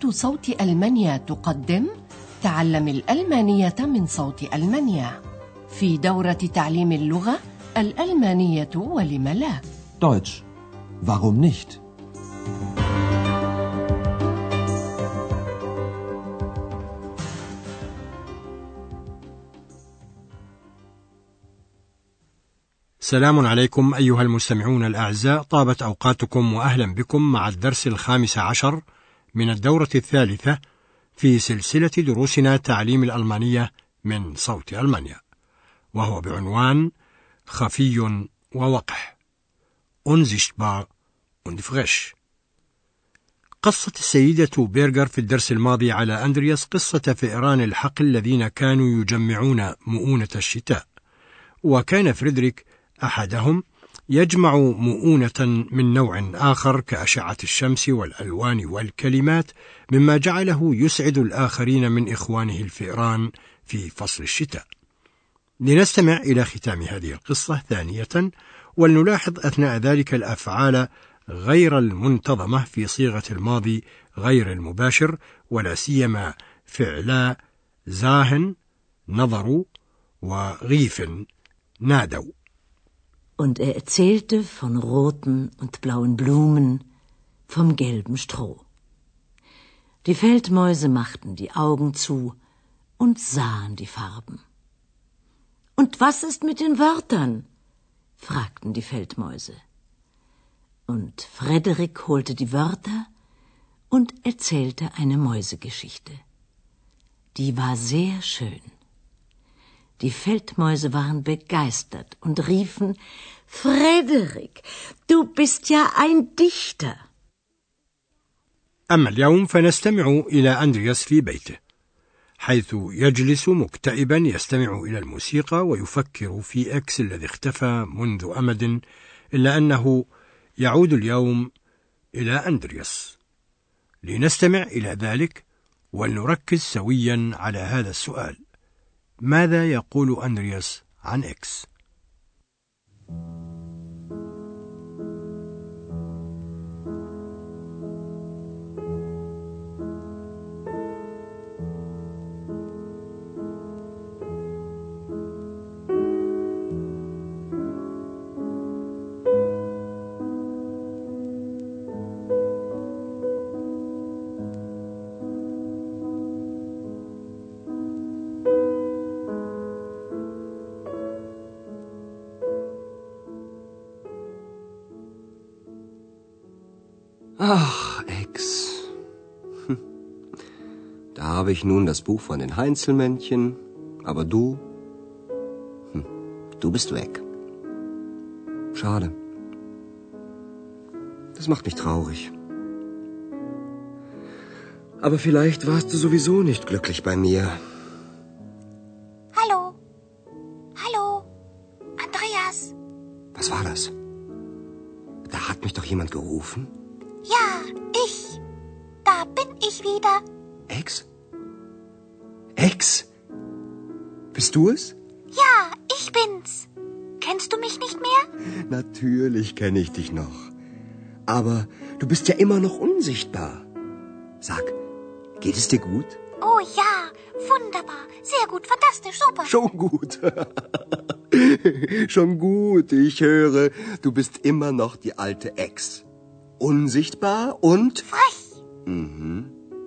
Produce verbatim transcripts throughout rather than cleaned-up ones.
إذاعة صوت ألمانيا تقدم تعلم الألمانية من صوت ألمانيا في دورة تعليم اللغة الألمانية ولم لا. Deutsch. Warum nicht? سلام عليكم أيها المستمعون الأعزاء، طابت أوقاتكم وأهلا بكم مع الدرس الخامس عشر من الدورة الثالثة في سلسلة دروسنا تعليم الألمانية من صوت ألمانيا، وهو بعنوان خفي ووقح unsichtbar und frisch. قصة السيدة بيرغر في الدرس الماضي على أندرياس قصة فئران الحقل الذين كانوا يجمعون مؤونة الشتاء، وكان فريدريك أحدهم يجمع مؤونة من نوع آخر كأشعة الشمس والألوان والكلمات، مما جعله يسعد الآخرين من إخوانه الفئران في فصل الشتاء. لنستمع إلى ختام هذه القصة ثانية، ولنلاحظ أثناء ذلك الأفعال غير المنتظمة في صيغة الماضي غير المباشر، ولا سيما فعلا زاهن نظروا وغيف نادوا. Und er erzählte von roten und blauen Blumen, vom gelben Stroh. Die Feldmäuse machten die Augen zu und sahen die Farben. Und was ist mit den Wörtern? Fragten die Feldmäuse. Und Frederik holte die Wörter und erzählte eine Mäusegeschichte. Die war sehr schön. Die Feldmäuse waren begeistert und riefen: Frederik, du bist ja ein Dichter. أما اليوم فنستمع إلى أندرياس في بيته، حيث يجلس مكتئبا يستمع إلى الموسيقى ويفكر في إكس الذي اختفى منذ أمد، إلا أنه يعود اليوم إلى أندرياس. لنستمع إلى ذلك ولنركز سويا على هذا السؤال: ماذا يقول أندرياس عن إكس؟ Ach, Ex. Hm. Da habe ich nun das Buch von den Heinzelmännchen, aber du, hm, du bist weg. Schade. Das macht mich traurig. Aber vielleicht warst du sowieso nicht glücklich bei mir. Hallo. Hallo. Andreas. Was war das? Da hat mich doch jemand gerufen. Ja, ich. Da bin ich wieder. Ex? Ex? Bist du es? Ja, ich bin's. Kennst du mich nicht mehr? Natürlich kenne ich dich noch. Aber du bist ja immer noch unsichtbar. Sag, geht es dir gut? Oh ja, wunderbar. Sehr gut, fantastisch, super. Schon gut. Schon gut, ich höre, du bist immer noch die alte Ex. Unsichtbar und frech. Mhm.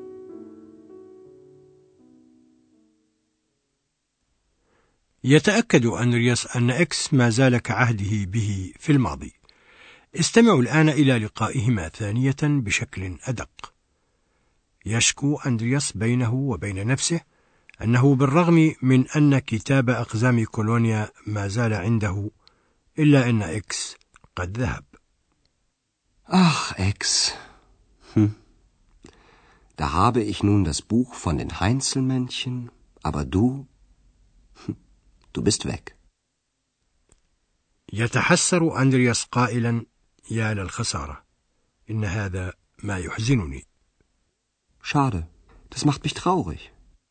يتأكد أندرياس أن إكس ما زال كعهده به في الماضي. استمعوا الآن إلى لقائهما ثانية بشكل أدق. يشكو أندرياس بينه وبين نفسه أنه بالرغم من أن كتاب أقزام كولونيا ما زال عنده، إلا أن إكس قد ذهب. Ach, Ex. Hm. Da habe ich nun das Buch von den Heinzelmännchen, aber du, hm, du bist weg. يتحسر أندرياس قائلا: يا للخسارة، إن هذا ما يحزنني. Schade, das macht mich traurig.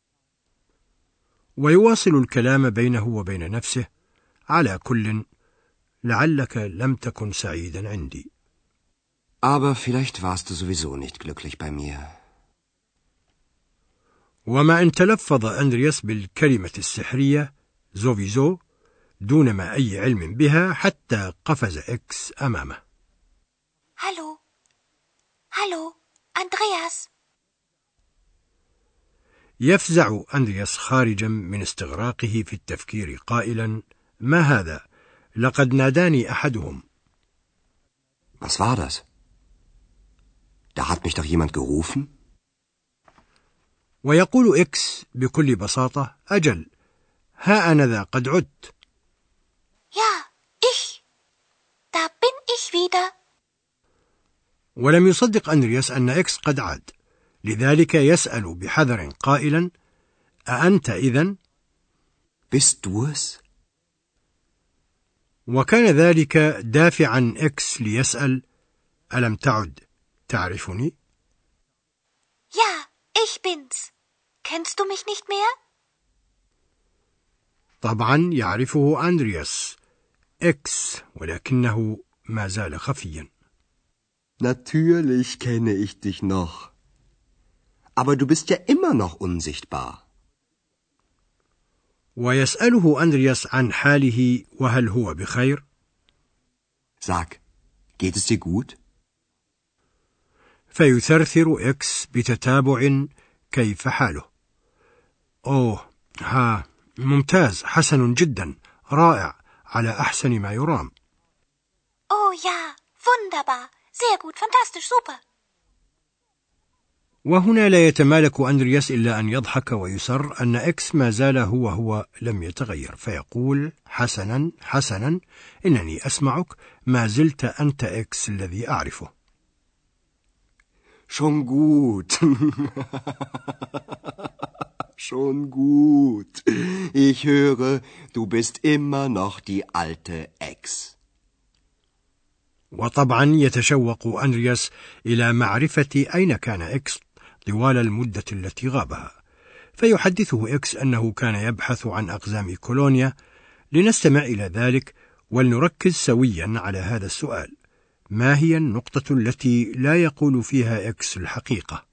ويواصل الكلام بينه وبين نفسه: على كل، لعلك لم تكن سعيدا عندي. Aber vielleicht warst du sowieso nicht glücklich bei mir. وما أن تلفظ أندرياس بالكلمة السحرية زوفيزو دون ما أي علم بها حتى قفز إكس أمامه. هالو هالو أندرياس. يفزع أندرياس خارجا من استغراقه في التفكير قائلا: ما هذا؟ لقد ناداني أحدهم. Was war das? Da hat mich doch jemand gerufen? ويقول إكس بكل بساطة: أجل، ها أنا ذا قد عدت. Ja, ich. Da bin ich wieder. ولم يصدق أندرياس أن إكس قد عاد، لذلك يسأل بحذر قائلا: أأنت إذن؟ Bist du es? وكان ذلك دافعا إكس ليسأل: ألم تعد تعرفني؟ Ja, ich bin's. Kennst du mich nicht mehr? طبعا يعرفه أندرياس إكس، ولكنه ما زال خفيا. Natürlich kenne ich dich noch. Aber du bist ja immer noch unsichtbar. ويسأله أندرياس عن حاله وهل هو بخير؟ Sag, geht es dir gut? فيثرثر إكس بتتابع كيف حاله. أوه، ها، ممتاز، حسن جدا، رائع، على أحسن ما يرام. Oh ja, wunderbar, sehr gut, fantastisch, super. وهنا لا يتمالك أندرياس إلا أن يضحك ويسر أن إكس ما زال هو هو لم يتغير، فيقول: حسنا حسنا، إنني أسمعك، ما زلت أنت إكس الذي أعرفه. Schon gut. Schon gut. Ich höre, du bist immer noch die alte Ex. وطبعا يتشوق أندرياس إلى معرفة أين كان إكس طوال المدة التي غابها، فيحدثه إكس أنه كان يبحث عن أقزام كولونيا. لنستمع إلى ذلك ولنركز سويا على هذا السؤال: ما هي النقطة التي لا يقول فيها إكس الحقيقة؟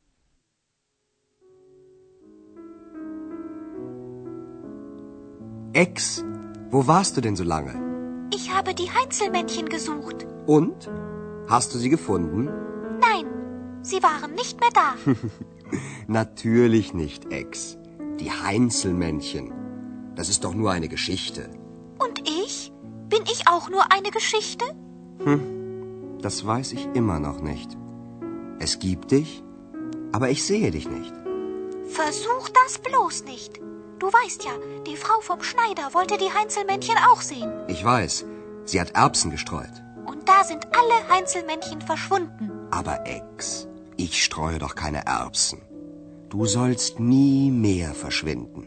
Ex, wo warst du denn so lange? Ich habe die Heinzelmännchen gesucht. Und? Hast du sie gefunden? Nein, sie waren nicht mehr da. Natürlich nicht, Ex. Die Heinzelmännchen. Das ist doch nur eine Geschichte. Und ich? Bin ich auch nur eine Geschichte? Hm, das weiß ich immer noch nicht. Es gibt dich, aber ich sehe dich nicht. Versuch das bloß nicht. Du weißt ja, die Frau vom Schneider wollte die Heinzelmännchen auch sehen. Ich weiß, sie hat Erbsen gestreut. Und da sind alle Heinzelmännchen verschwunden. Aber Ex, ich streue doch keine Erbsen. Du sollst nie mehr verschwinden.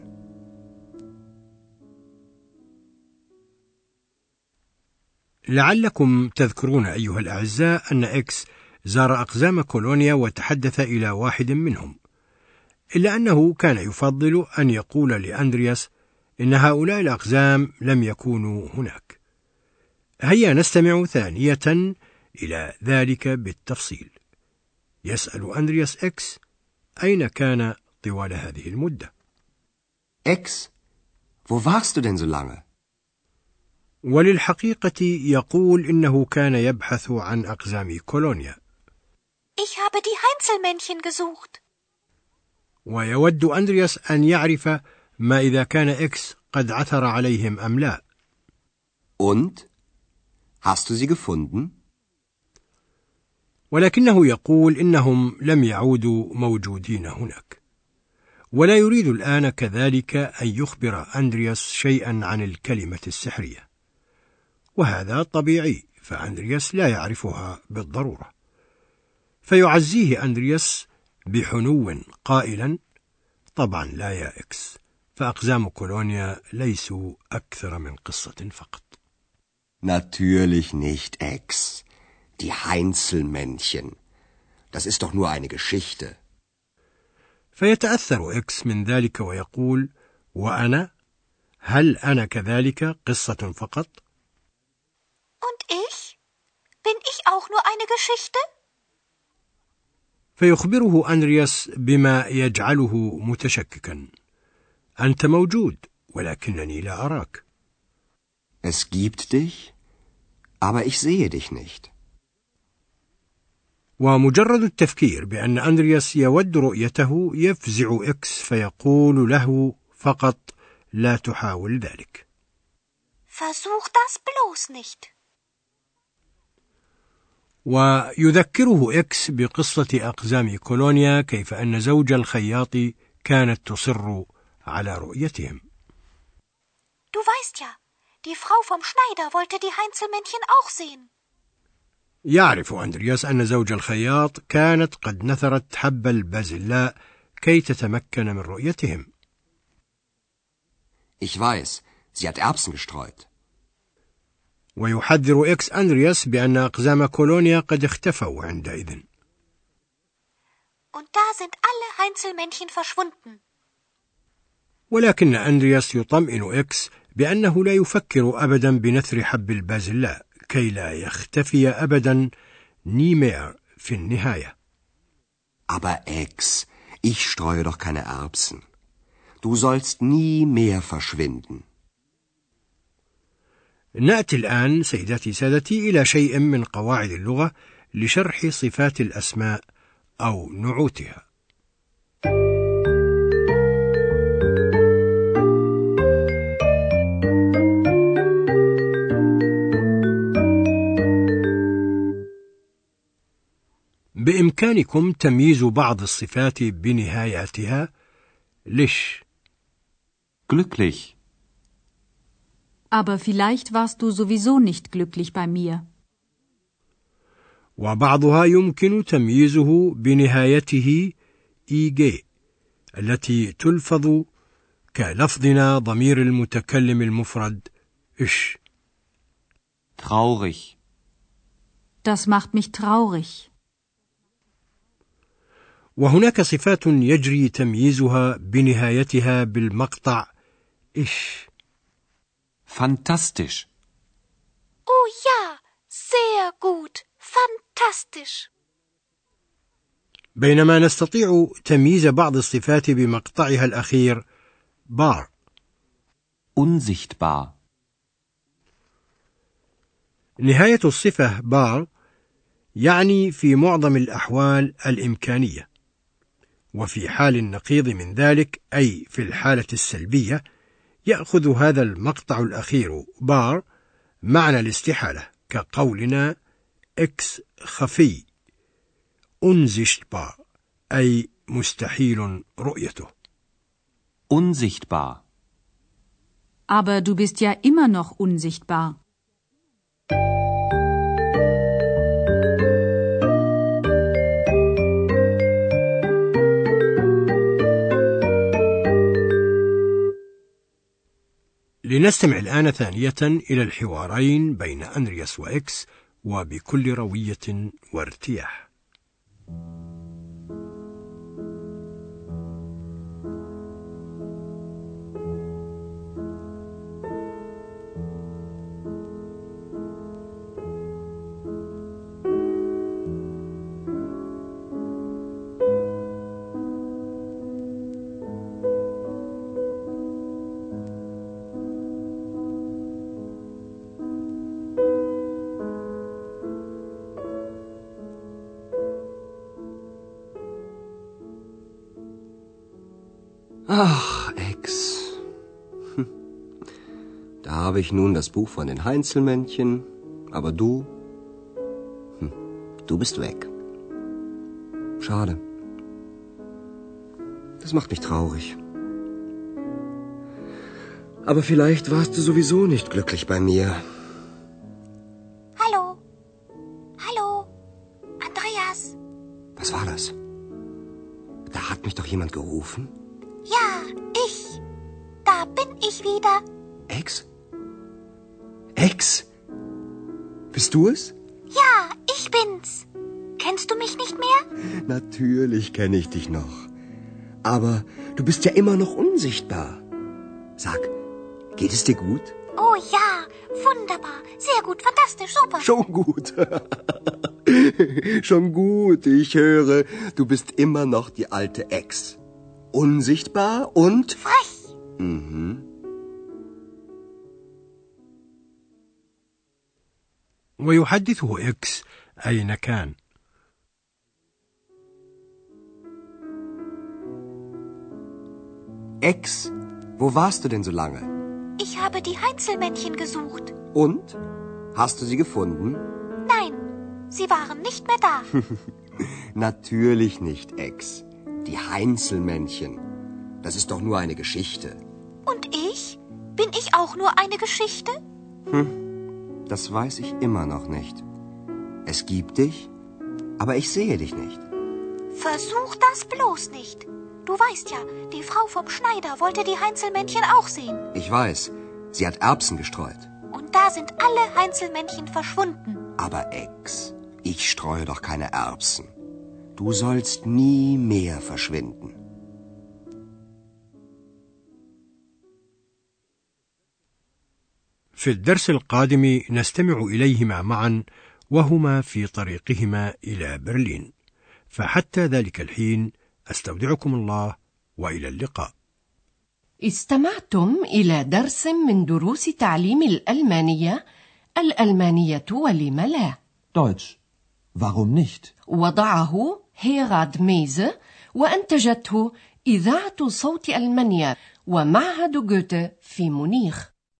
لعلكم تذكرون أيها الأعزاء أن إكس زار أقزام كولونيا وتحدث إلى واحد منهم، إلا أنه كان يفضل أن يقول لأندرياس إن هؤلاء الأقزام لم يكونوا هناك. هيا نستمع ثانية إلى ذلك بالتفصيل. يسأل أندرياس إكس أين كان طوال هذه المدة. Ex, wo warst du denn so lange? وللحقيقة يقول إنه كان يبحث عن أقزام كولونيا. Ich habe die Heinzelmännchen gesucht. ويود أندرياس أن يعرف ما إذا كان إكس قد عثر عليهم أم لا. Und? Hast du sie gefunden? ولكنه يقول إنهم لم يعودوا موجودين هناك، ولا يريد الآن كذلك أن يخبر أندرياس شيئا عن الكلمة السحرية، وهذا طبيعي، فأندرياس لا يعرفها بالضرورة. فيعزيه أندرياس بحنو قائلا: طبعا لا يا إكس، فأقزام كولونيا ليسوا أكثر من قصة فقط. Natürlich nicht, Ex. Die Heinzelmännchen. Das ist doch nur eine Geschichte. فيتأثر إكس من ذلك ويقول: وأنا؟ هل أنا كذلك قصة فقط؟ Und ich? Bin ich auch nur eine Geschichte? فيخبره أندرياس بما يجعله متشككا. أنت موجود ولكنني لا أراك. Es gibt dich, aber ich sehe dich nicht. ومجرد التفكير بأن أندرياس يود رؤيته يفزع إكس فيقول له فقط لا تحاول ذلك. Versuch das bloß nicht. ويذكره إكس بقصة أقزام كولونيا كيف أن زوج الخياط كانت تصر على رؤيتهم. Du weißt ja, die Frau vom Schneider wollte die Heinzelmännchen auch sehen. يعرف أندرياس أن زوج الخياط كانت قد نثرت حب البازلاء كي تتمكن من رؤيتهم. Ich weiß, sie hat Erbsen gestreut. ويحذر إكس أندرياس بأن أقزام كولونيا قد اختفوا عندئذ. Und da sind alle Heinzelmännchen verschwunden. ولكن أندرياس يطمئن إكس بأنه لا يفكر أبدا بنثر حب البازلاء كي لا يختفي أبدا نيمير في النهاية. Aber Ex, ich streue doch keine Erbsen. Du sollst nie mehr verschwinden. نأتي الآن سيداتي سادتي إلى شيء من قواعد اللغة لشرح صفات الأسماء أو نعوتها. بإمكانكم تمييز بعض الصفات بنهاياتها. ليش؟ Glücklich. Aber vielleicht warst du sowieso nicht glücklich bei mir. وبعضها يمكن تمييزه بنهايته إيجي التي تلفظ كلفظنا ضمير المتكلم المفرد إش. Traurig. Das macht mich traurig. وهناك صفات يجري تمييزها بنهايتها بالمقطع إش. Fantastisch. Oh ja, sehr gut. Fantastisch. بينما نستطيع تمييز بعض الصفات بمقطعها الأخير بار. Unsichtbar. نهاية الصفة بار يعني في معظم الأحوال الإمكانية، وفي حال النقيض من ذلك أي في الحالة السلبية يأخذ هذا المقطع الأخير بار معنى الاستحالة كقولنا إكس خفي unsichtbar أي مستحيل رؤيته. Unsichtbar. Aber du bist ja immer noch unsichtbar. لنستمع الآن ثانية إلى الحوارين بين أندرياس وإكس وبكل روية وارتياح. Ach, Ex. Hm. Da habe ich nun das Buch von den Heinzelmännchen, aber du, hm, du bist weg. Schade. Das macht mich traurig. Aber vielleicht warst du sowieso nicht glücklich bei mir. Hallo? Hallo? Andreas? Was war das? Da hat mich doch jemand gerufen. Ja, ich. Da bin ich wieder. Ex? Ex? Bist du es? Ja, ich bin's. Kennst du mich nicht mehr? Natürlich kenne ich dich noch. Aber du bist ja immer noch unsichtbar. Sag, geht es dir gut? Oh ja, wunderbar. Sehr gut, fantastisch, super. Schon gut. Schon gut, ich höre, du bist immer noch die alte Ex. Unsichtbar und... Frech. Mhm. ويحدثه إكس أين كان. Ex, wo warst du denn so lange? Ich habe die Heinzelmännchen gesucht. Und? Hast du sie gefunden? Nein, sie waren nicht mehr da. Natürlich nicht, Ex. Die Heinzelmännchen. Das ist doch nur eine Geschichte. Und ich? Bin ich auch nur eine Geschichte? Hm, das weiß ich immer noch nicht. Es gibt dich, aber ich sehe dich nicht. Versuch das bloß nicht. Du weißt ja, die Frau vom Schneider wollte die Heinzelmännchen auch sehen. Ich weiß, sie hat Erbsen gestreut. Und da sind alle Heinzelmännchen verschwunden. Aber Ex, ich streue doch keine Erbsen. Du sollst nie mehr verschwinden. في الدرس القادم نستمع إليهما معا وهما في طريقهما إلى برلين. فحتى ذلك الحين أستودعكم الله وإلى اللقاء. استمعتم إلى درس من دروس تعليم الألمانية الألمانية ولم لا. Deutsch. Warum nicht? وضعه هيراد ميزه وأنتجته إذاعة صوت ألمانيا ومعهد جوته في مونيخ.